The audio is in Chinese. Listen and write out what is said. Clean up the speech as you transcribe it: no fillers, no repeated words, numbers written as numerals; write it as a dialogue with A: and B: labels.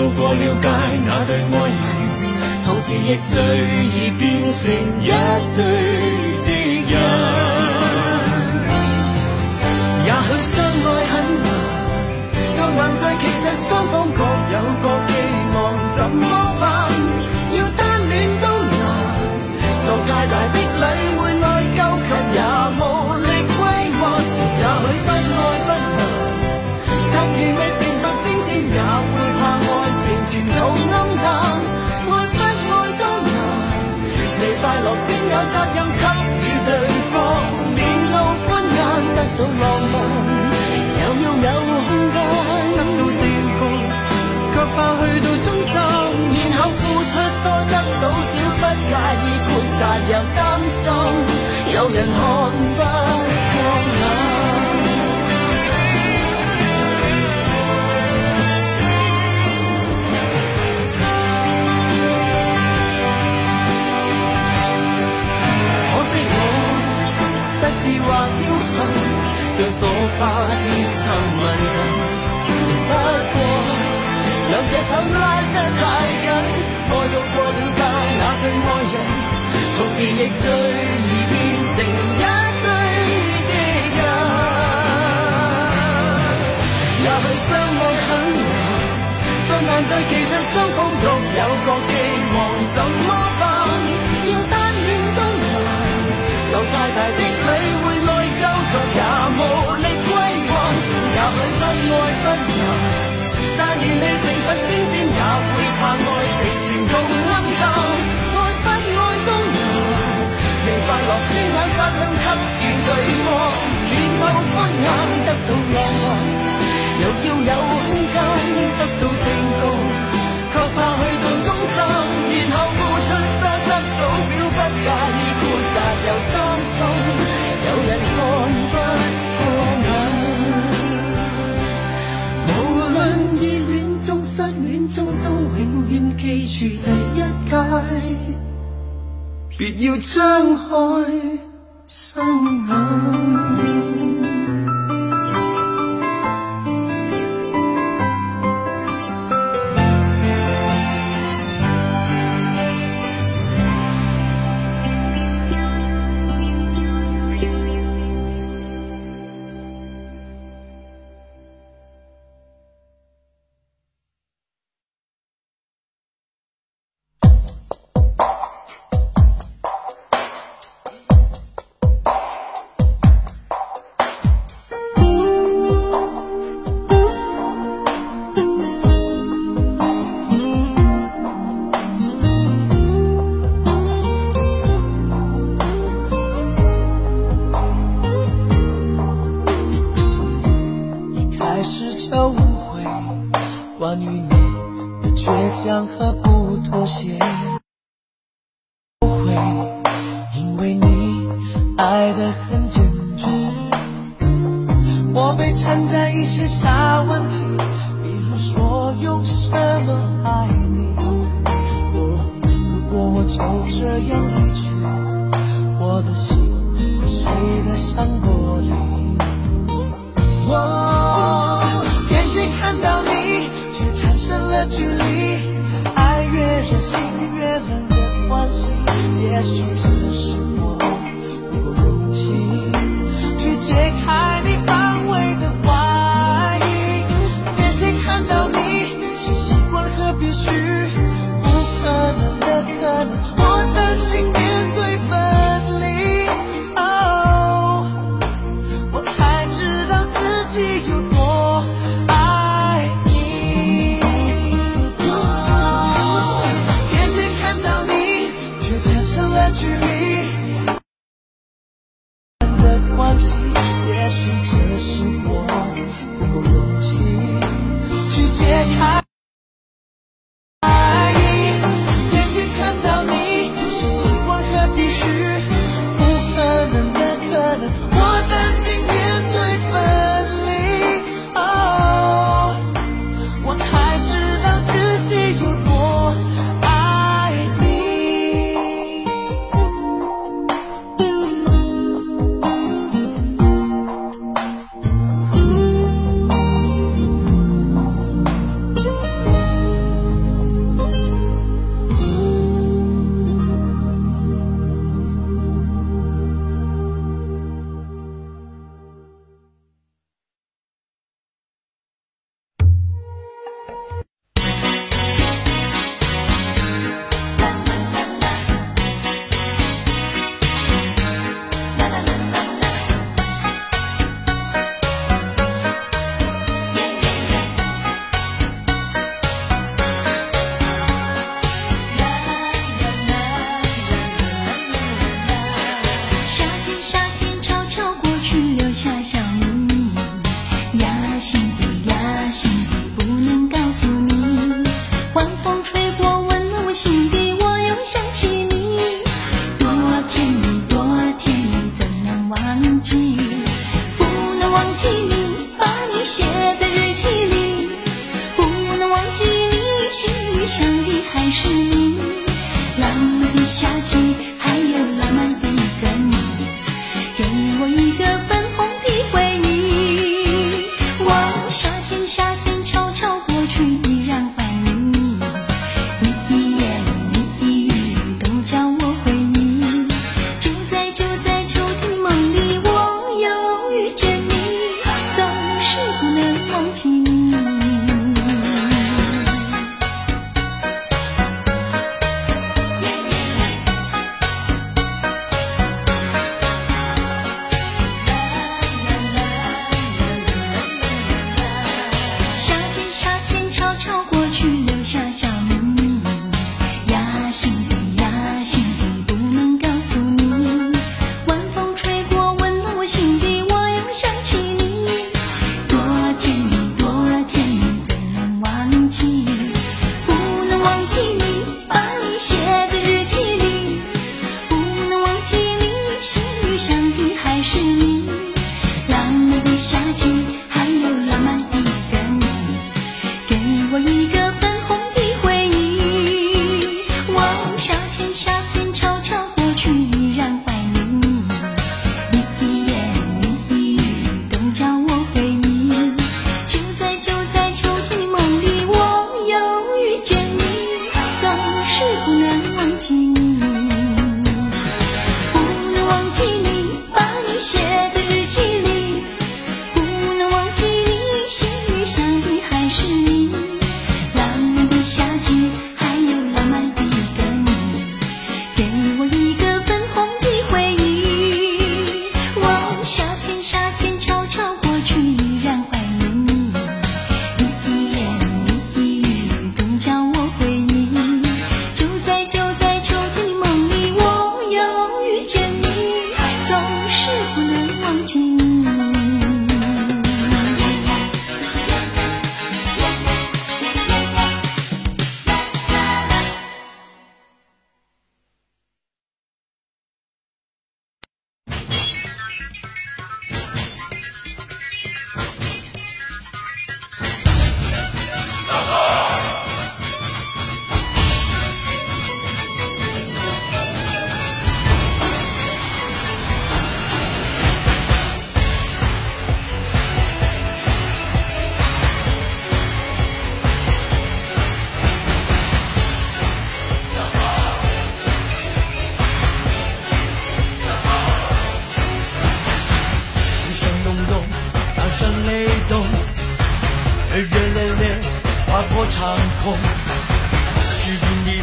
A: 路過了解那對愛人，同時亦最易變成一對敵人。也許相愛很難，就難在其實雙方各有各寄望，怎麼辦？要單戀都難，做太大的禮會內疚，卻也無力歸還。也許不愛不難，但願未成佛升仙也會怕愛情前途暗淡。愛不愛都難，未快樂先有責任給予對方，面露歡顏得到浪漫，又要有空間得到定局，卻怕去到終站，然後付出多得到少，不介意豁達又擔心有人看不過眼。不自或僥倖，讓火花天生吻近。不過兩隻手拉得太緊，愛到過了界那對愛人，同時亦最易變成一對敵人。也許相愛很難，就難在其實雙方各有各寄望，怎麼辦？要單戀都難，受太大的禮會內疚，卻也無力歸還。也許不愛不難，但願未成佛升仙也會怕愛情前途暗淡。愛不愛都難，未快樂先有責任給予對方，面露歡顏得到浪漫，又要有空間得到定局，卻怕去到終站，然後付出多得到少，不介意豁達又擔心有人看不過眼。無論熱戀中失戀中，都永遠記住第一屆，別要張開雙眼。
B: 心里想的还是你。浪漫的夏季，还有浪漫的一个你，给我一个粉红的回忆。望夏天，夏天悄悄过去，依然怀念你。你一言你一语都叫我回忆。就在秋天的梦里，我又遇见你，总是不能忘记你。夏天悄悄过去，留下小秘密。呀，心底不能告诉你。晚风吹过，温暖我心底，我又想起你。多甜蜜，怎能忘记？不能忘记你，把你写在日记里。不能忘记你，心里想的还是你。浪漫的夏季，还有浪漫的一个你，给我一个粉红的回忆。望夏天悄悄过去，依然怀念你。你一言你一语都叫我回忆。就在秋天的梦里，我又遇见你，总是不能忘记你。不能忘记你，把你写在日记里。不能忘记你，心里想的还是你。浪漫的夏季，还有浪漫的一个你，给我一个粉红的回忆。望夏天悄悄过去，依然怀念你。你一言你一语都叫我回忆。就在秋天的梦里，我又遇见你，总是不能忘记你。
A: 雨声隆隆，掌声雷动，热烈烈划过长空，是云的